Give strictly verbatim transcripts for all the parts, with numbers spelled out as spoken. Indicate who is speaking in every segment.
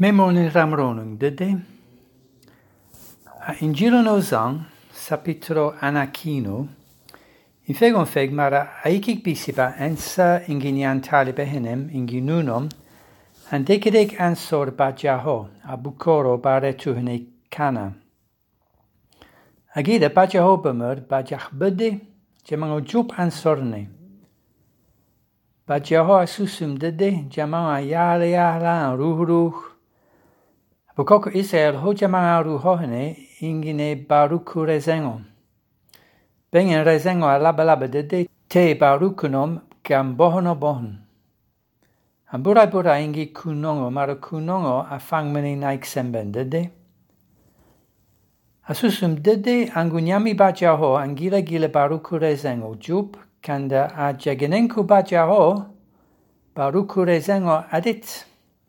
Speaker 1: Memon ramronung dede. In giro no zang, sapitro anakino, in fegon feg mara aikik bisiba ensa inginian talibe hinem inginunom, and dekadek ansor bajaho, abukoro bare tuhene kana. Agida bajaho bemur bajah bede, jamango jup ansorne. Bajaho asusum dede, jamango yala yala ruh ruh. Bukoko Israel ho jamanga ruhohene ingine baruku rezengo. Bengen rezengo alaba laba dede te barukunom gam bohono bohon. Ambura bura ingi kunongo mara kunongo afangmeni naik semben dede. Asusum dede angunyami bajaho angila gila baruku rezengo jup kanda a jagenenku bajaho baruku rezengo adit.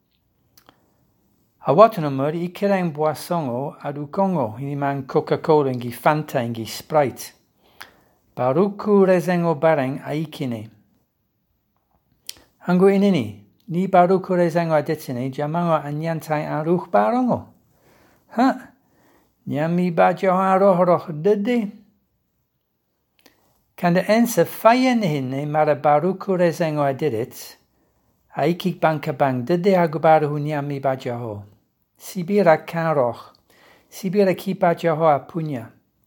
Speaker 1: Awatanumur i kereng boissongo adu kongo iniman Coca-Cola ingi Fanta ingi Sprite. Baruku rezengo bareng aikine. Hangu inini, ni baruku rezengo adetine jamango anyantai aruh barongo. Ha? Nyami bajo aroh roh dede. Kanda ensa fayen hinne mara baruku rezengo adedit. Aikik banka bang dede agubaru hunyami bajaho. Sibira karoch. Sibira ki bajaho apunya.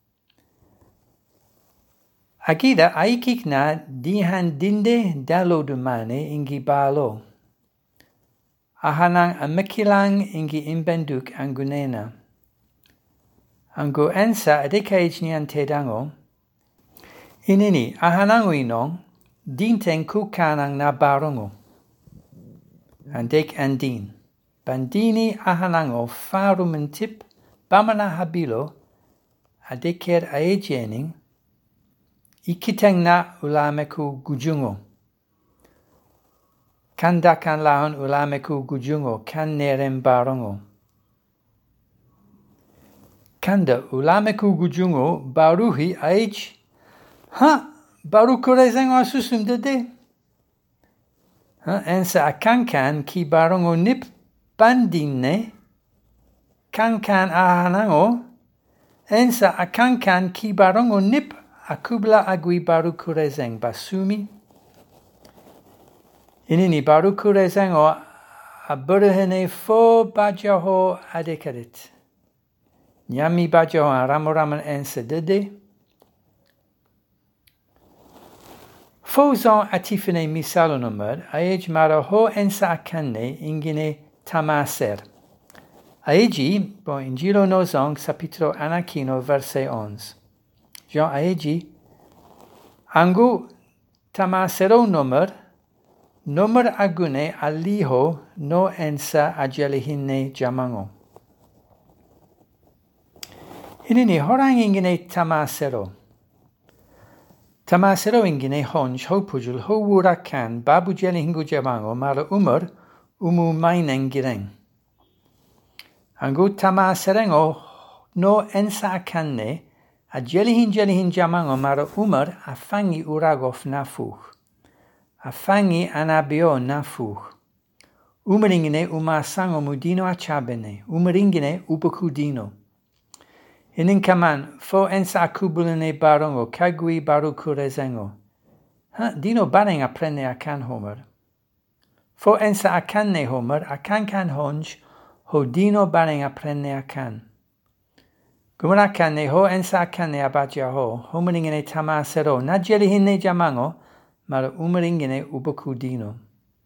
Speaker 1: Agida aikik na dihan dinde dalo dumane ingi balo. Ahanang amikilang ingi imbenduk angunena. Angu ensa adekaj nian tedango. Inini ahanangu inong dinten kukanang na barongo. Andek andin. Bandini ahanango farumentip bamana habilo adeker aejening ikiteng na ulameku gujungo. Kandakan lahon ulameku gujungo kan nerem barongo. Kanda ulameku gujungo baruhi aej. Ha! Baruku rezengo asusum dede. Ha, ensa akankan ki barongo nip bandine kankan ahanango ensa akankan ki barongo nip akubla agui baruku rezeng basumi inini baruku rezengo aburhene fo bajaho adekarit nyami bajaho aramoraman ensa dede Fozon atifine misalonomad aej mara ho ensa akanne ingine tamaser. Aegi, bon Injilo nozong sapitro anakino verse onze. Jean aegi, angu tamasero nomer, nomer agune aliho no ensa ajelihine jamango. Inini horang ingine tamasero. Tamasero ingine honj ho pujul ho wurakan babu jelihingu jamango mara umar umu maineng gireng. Angu tamaserengo no ensa akanne a jelihin jelihin jamango mara umar afangi uragof nafuch. Afangi anabio nafuch. Umeringine umasango mudino achabene. Umeringine ubukudino. Inin kaman fo ensa akubulene barongo kagui baruku rezengo. Ha, dino bareng aprene akan homer. Fo ensa akanne homer akankan honj ho dino bareng aprene akan. Guman akanne ho ensa akanne abaja ho homeringene tamasero na jelihinne jamango mara umeringene ubuku dino.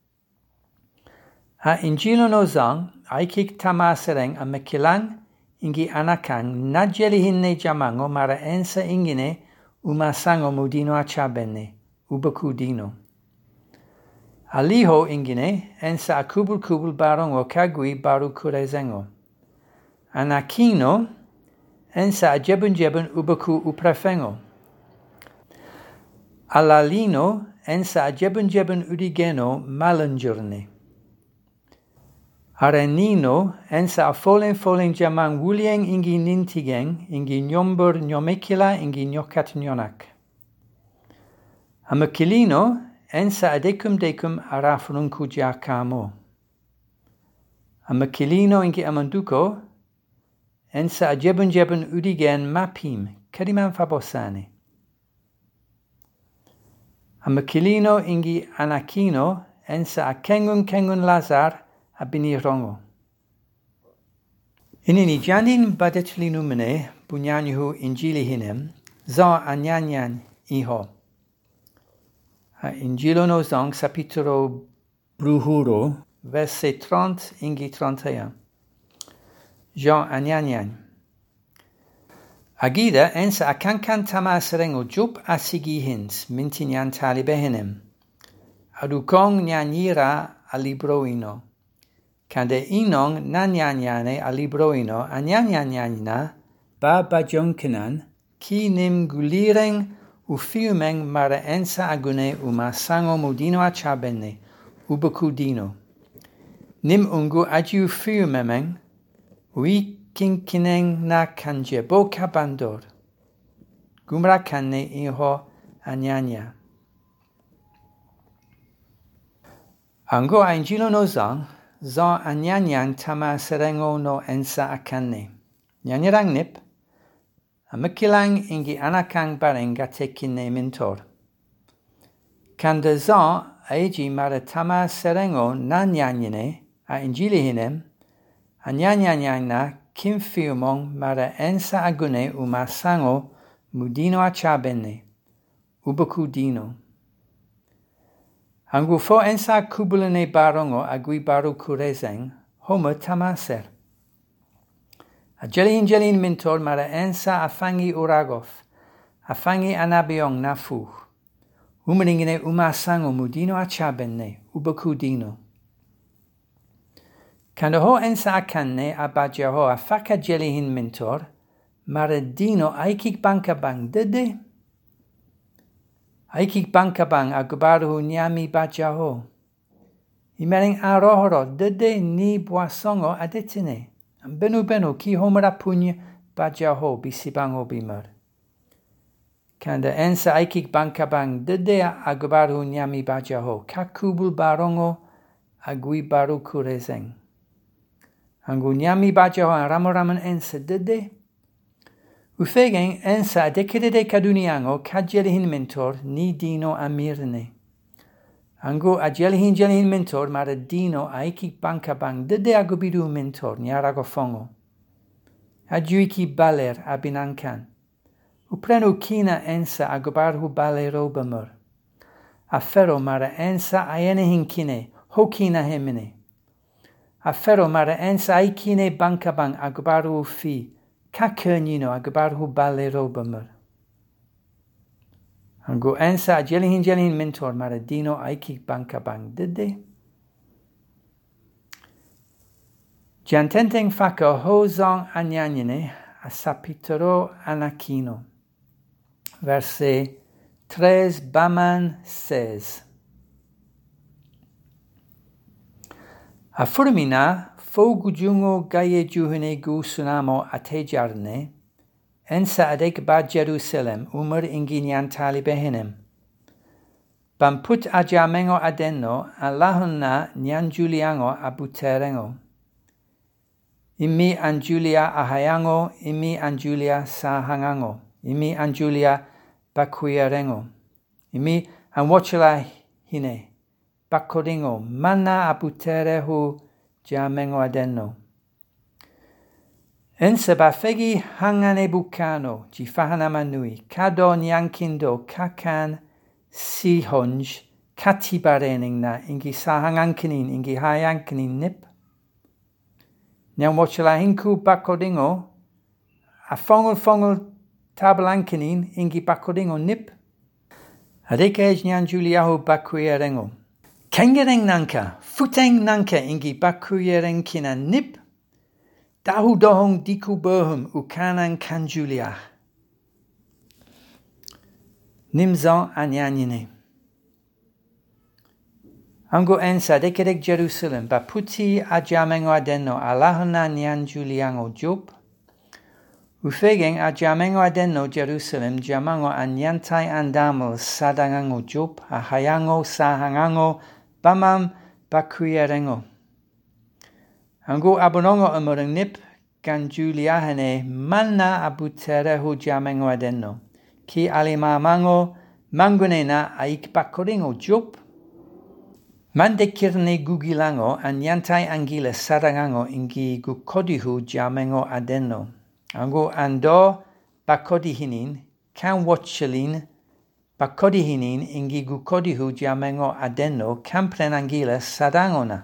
Speaker 1: Ha injilo no zang aikik tamasereng amekilang ingi anakang na jelihinne jamango mara ensa ingine umasango mudino achabene ubuku dino. Aliho ingine ensa akubul kubul barongo kagui baruku rezengo. Anakino ensa ajebun jebun ubaku uprafengo. Alalino ensa ajebun jebun udigeno malanjurne. Arenino ensa afolen folen jamang wulieng ingi nintigeng ingi nyombur nyomekila ingi nyokat nyonak. Amakilino ensa adekum decum arafrunku jakamo. A makilino ingi amanduko, ensa a jebun jebun udigen mapim, kadiman fabosane. A makilino ingi anakino, ensa a kengun kengun lazar a binirongo. Inini janin badetlinu mene, bunyanyuhu injili hinem, za anyanyan iho. A injilo no zong sapituro bruhuro, verset trente ingi trente et un. Jean anyanyan. Agida ensa akankan tamaserengo jup asigi hins, mintinyan talibehenem. Adukong nyanyira alibroino. Kande inong nanyanyane alibroino anyanyanyana ba bajonkenan ki nim gulireng ufiumeng mara ensa agune umasango mudino achabene ubakudino. Nim ungu ajiu fiumemeng ui kinkineng na kanjebo kabandor. Gumra kanne iho anyanya. Ango angelo no zang, zang anyanyang tama serengo no ensa akanne. Nyanyarang nip, amakilang ingi anakang barenga tekine mintor. Kanda zang aiji mara tama serengo na nyanyane a injili hinem, anyanyanyang na kim fiumong mara ensa agune umasango mudino achabene, ubakudino. Angu fo ensa kubulene barongo agui baru kurezeng, homo tamaser. A jelin jelin mintor mara ensa afangi uragof, afangi anabiong nafu. Umaningine umasango mudino achabene, ubakudino. Kanda ho ensa akanne abaja ho afaka jelihin mintor, mara dino aikik banka bang dede. Aikik banka bang agubaru nyami baja ho. Imering arohoro dede ni boisongo adetine. Benu benu ki homara punya baja ho bisibango bimar. Kanda ensa aikik banka bang dede agubaru nyami baja ho. Kakubul barongo agui baru kurezeng. Angu nyami baja ho ramoraman ensa dede. Ufegen ensa adekede kaduniango kajelihin mentor ni dino amirne. Angu ajelihin jelihin mentor mara dino aiki banka bang dede agubidu mentor nyarago fongo. Ajuiki baler abinankan. Uprenu kina ensa agubarhu balero bamur. Afero mara ensa ayenehin kine hokina hemine. Afero mara ensa aikine banka bang agubaru fi. Kakernino agubarhu balero bamur. Angu ensa ajelihin jelihin mentor mara dino aiki banka bang dede. Jantenteng faka hozong anyanyene asapitero anakino. Verset tres baman seize. Afurmina Fogujungo gaye juhune gu sunamo atejarne, ensa adek ba Jerusalem umur inginyan talibehenem. Bamput ajamengo adenno alahunna nyan Juliango abuterengo. Imi anjulia ahayango, imi anjulia sahangango, imi anjulia bakuyarengo. Imi anwachela hine, bakoringo, mana abuterehu jamengo adenno. Ensa bafegi hangane bukano, jifahana manui, kado nyankindo, kakan sihonj, katibarening na, ingi sahangankinin, ingi hayankinin nip. Nyan wachela hinku bakodingo, a fongol fongol tabalankinin, ingi bakodingo nip. Adekej nyan juliahu bakuyerengo. Kengereng nanka, futeng nanka ingi bakuyereng kina nip. Dahu dohong diku bohum ukanan kanjuliah. Nimzon anyanyine. Ango ensa dekedek Jerusalem baputi ajamengo adenno alahana nyan juliango job. Ufegeng ajamengo adenno Jerusalem jamango anyantai andamo sadangango job ahayango sahangango bamam bakuyerengo. Ango abonongo umurang nip kan Juliahane manna abutere hu jamengo adenno. Ki alima mango mangunena aik bakoringo jup. Mande kirne gugilango an yantai angila sarangango ingi gukodihu jamengo adenno. Ango ando bakodihinin kan watchalin bakodihinin ingi gukodihu jamengo adenno kampren angila sarangona.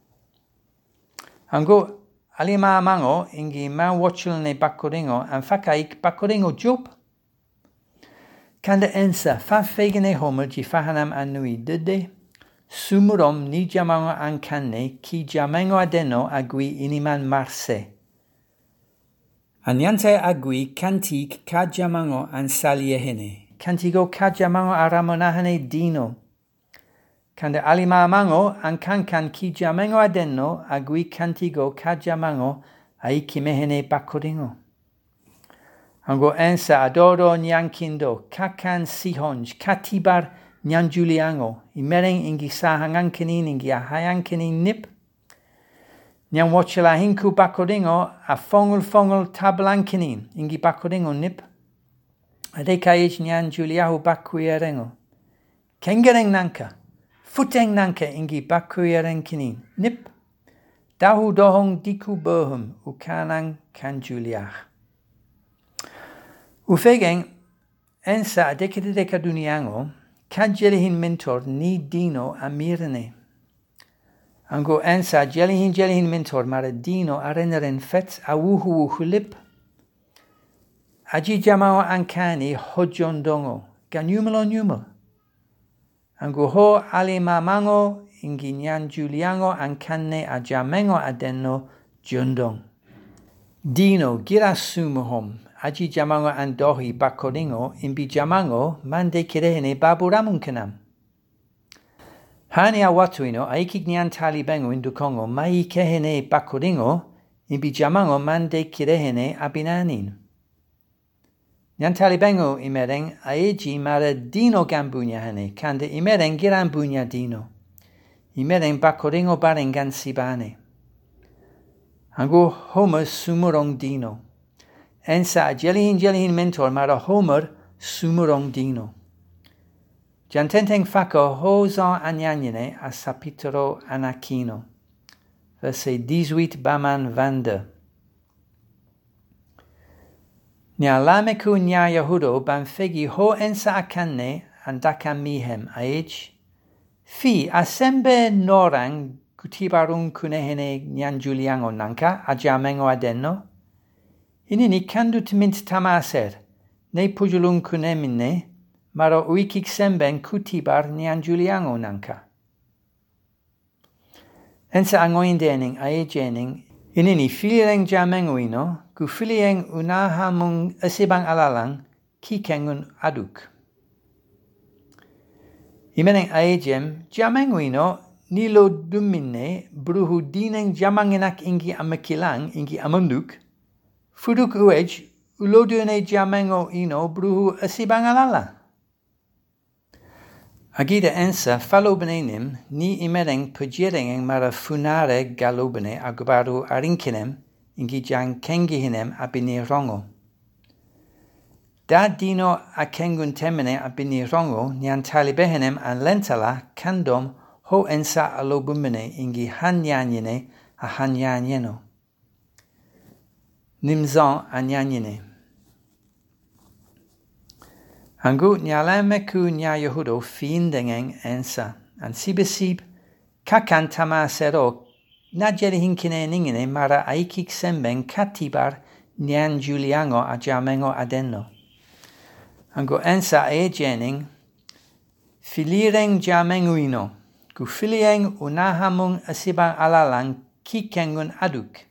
Speaker 1: Ango alima mango ingi man watchalne bakoringo an fakaik bakoringo jup. Kanda ensa fa fegene homer ji fahanam anui dede. Sumurom ni jamango ankanne ki jamengo adeno agui iniman marse. Anyante agui kantik ka jamango an saliehene. Kantigo ka jamango aramonahane dino. Kanda alima mango ankankan ki jamengo adeno agui kantigo ka jamango aikimehene bakoringo. Ango ensa adoro nyankindo kakan sihonj katibar nyan Juliango, imereng ingi sahangankinin ingi ahayankinin nip. Nyan wachela hinku bakoringo a fongul fongul tablankinin ingi bakoringo nip. Adekaij nyan Juliahu bakuyerengo. Kengereng nanka, futeng nanka ingi bakuyerenkinin nip. Dahu dohong diku bohum ukanang kan Juliah. Ufegeng ensa adekade dekaduniango. Ka jelihin mentor ni dino amirne. Ango ensa jelihin jelihin mentor mara dino areneren fet awuhu uhulip. Aji jamao ankani hojondongo. Ga numelo numel. Ango ho alima mango ingi nyan Juliango ankane ajamengo adenno jondong. Dino gira sumuhom. Aji jamango andohi bakoringo imbi jamango mande kirehene baburamunkanam. Hani awatuino aikik nyan talibengo indukongo mai kehene bakoringo imbi jamango mande kirehene abinanin. Nyan talibengo imereng aeji mara dino gambunya hane kande imereng girambunya dino. Imereng bakoringo barengan sibane. Ango homo sumurong dino. Ensa jelihin jelihin mentor mara homer sumurong dino. Jantenteng fako hozan anyanyene a sapitero anakino. Verset dix-huit baman vande. Nya lameku nya Yahudo ban fegi ho ensa akanne andaka mihem aej. Fi asembe norang kutibarung kunehene nyan Juliango nanka ajamengo adenno. Inini kandut mint tamaser, ne pujulung kunemine, maro uikik semben kutibar nyan Juliango nanka. Ensa angoindening aejening, inini filireng jamenguino, gu filieng unahamung esibang alalang, kikengun aduk. Imeneng aejem, jamenguino, nilo dumine, bruhu dineng jamangenak ingi amakilang, ingi amunduk, Fuduk uej, ulodune jamengo ino bruhu asibangalala. Agida ensa falobenenim ni imereng pujireng mara funare galobene agubaru arinkinem ingi jang kengihinem abini rongo. Da dino akengun temene abini rongo nyan talibehenem an lentala kandom ho ensa alobumene ingi hanyanyene a hanyanyeno. Nimzan anyanyene. Angu nyalameku nya Yehudo fiindengeng ensa. An sibesib kakan tamasero najeri hinkine ningine mara aikik semben katibar nyan Juliango ajamengo adenno. Angu ensa ejening filireng jamenguino. Gu filieng unahamung asibang alalang kikengun aduk.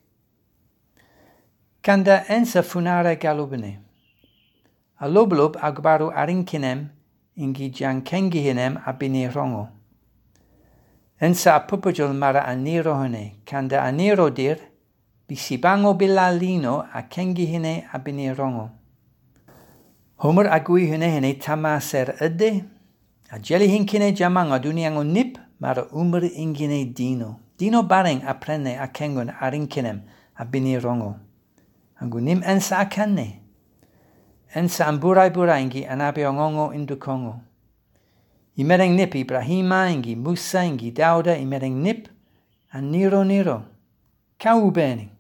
Speaker 1: Kanda ensa funare galubene. Aloblub agbaru arinkinem ingi jankengihinem abini rongo. Ensa apupujul mara anirohone, kanda anirodir, bisibango bilalino akengihine abini rongo. Homer agui hunehene tamaser ede, ajeli hinkine jamanga duniango nip, mara umr ingine dino. Dino bareng a prenne a kengon a rinkinem a bini rongo. Angu nim ensa a kanne. Ensa an burai buraingi anabe ongongo indukongo. Imereng nip Ibrahima ingi Musa ingi Dauda imereng nip an niro niro. Kau beni.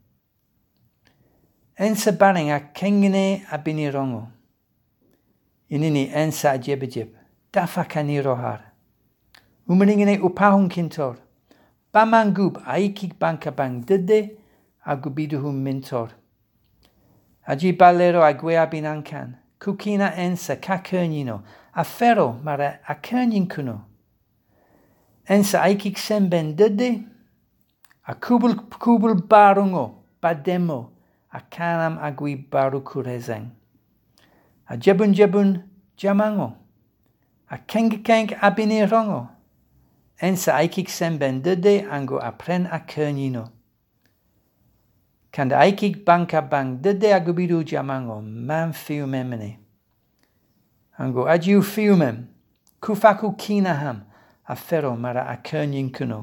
Speaker 1: Ensa bareng a kengine a bini rongo. Inini ensa a jebejeb. Dafa kaniro har. Umeringine upahung kintor. Bamangub aikik bankabang dede agubiduhum mintor. Aji balero agwea binankan. Kukina ensa kakernino. Afero mara akernin kuno. Ensa aikik semben dede. A kubul kubul barungo. Bademo. A kanam agui baru kurezeng. A jebun jebun jamango. A keng keng abini rongo. Ensa aikik semben dede ango apren a kernino. Kanda aikik banka bang dede agubidu jamango man fiumemene. Ango ajiu fiumem. Kufaku kinaham afero mara a kernin kuno.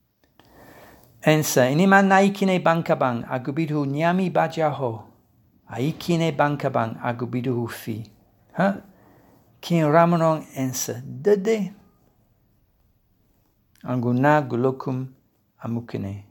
Speaker 1: Ensa iniman naikine banka bang agubidu nyami bajaho. Aikine banka bang agubidu fi. Ha? Kin ramonong ensa dede. Anguna gulokum amukine.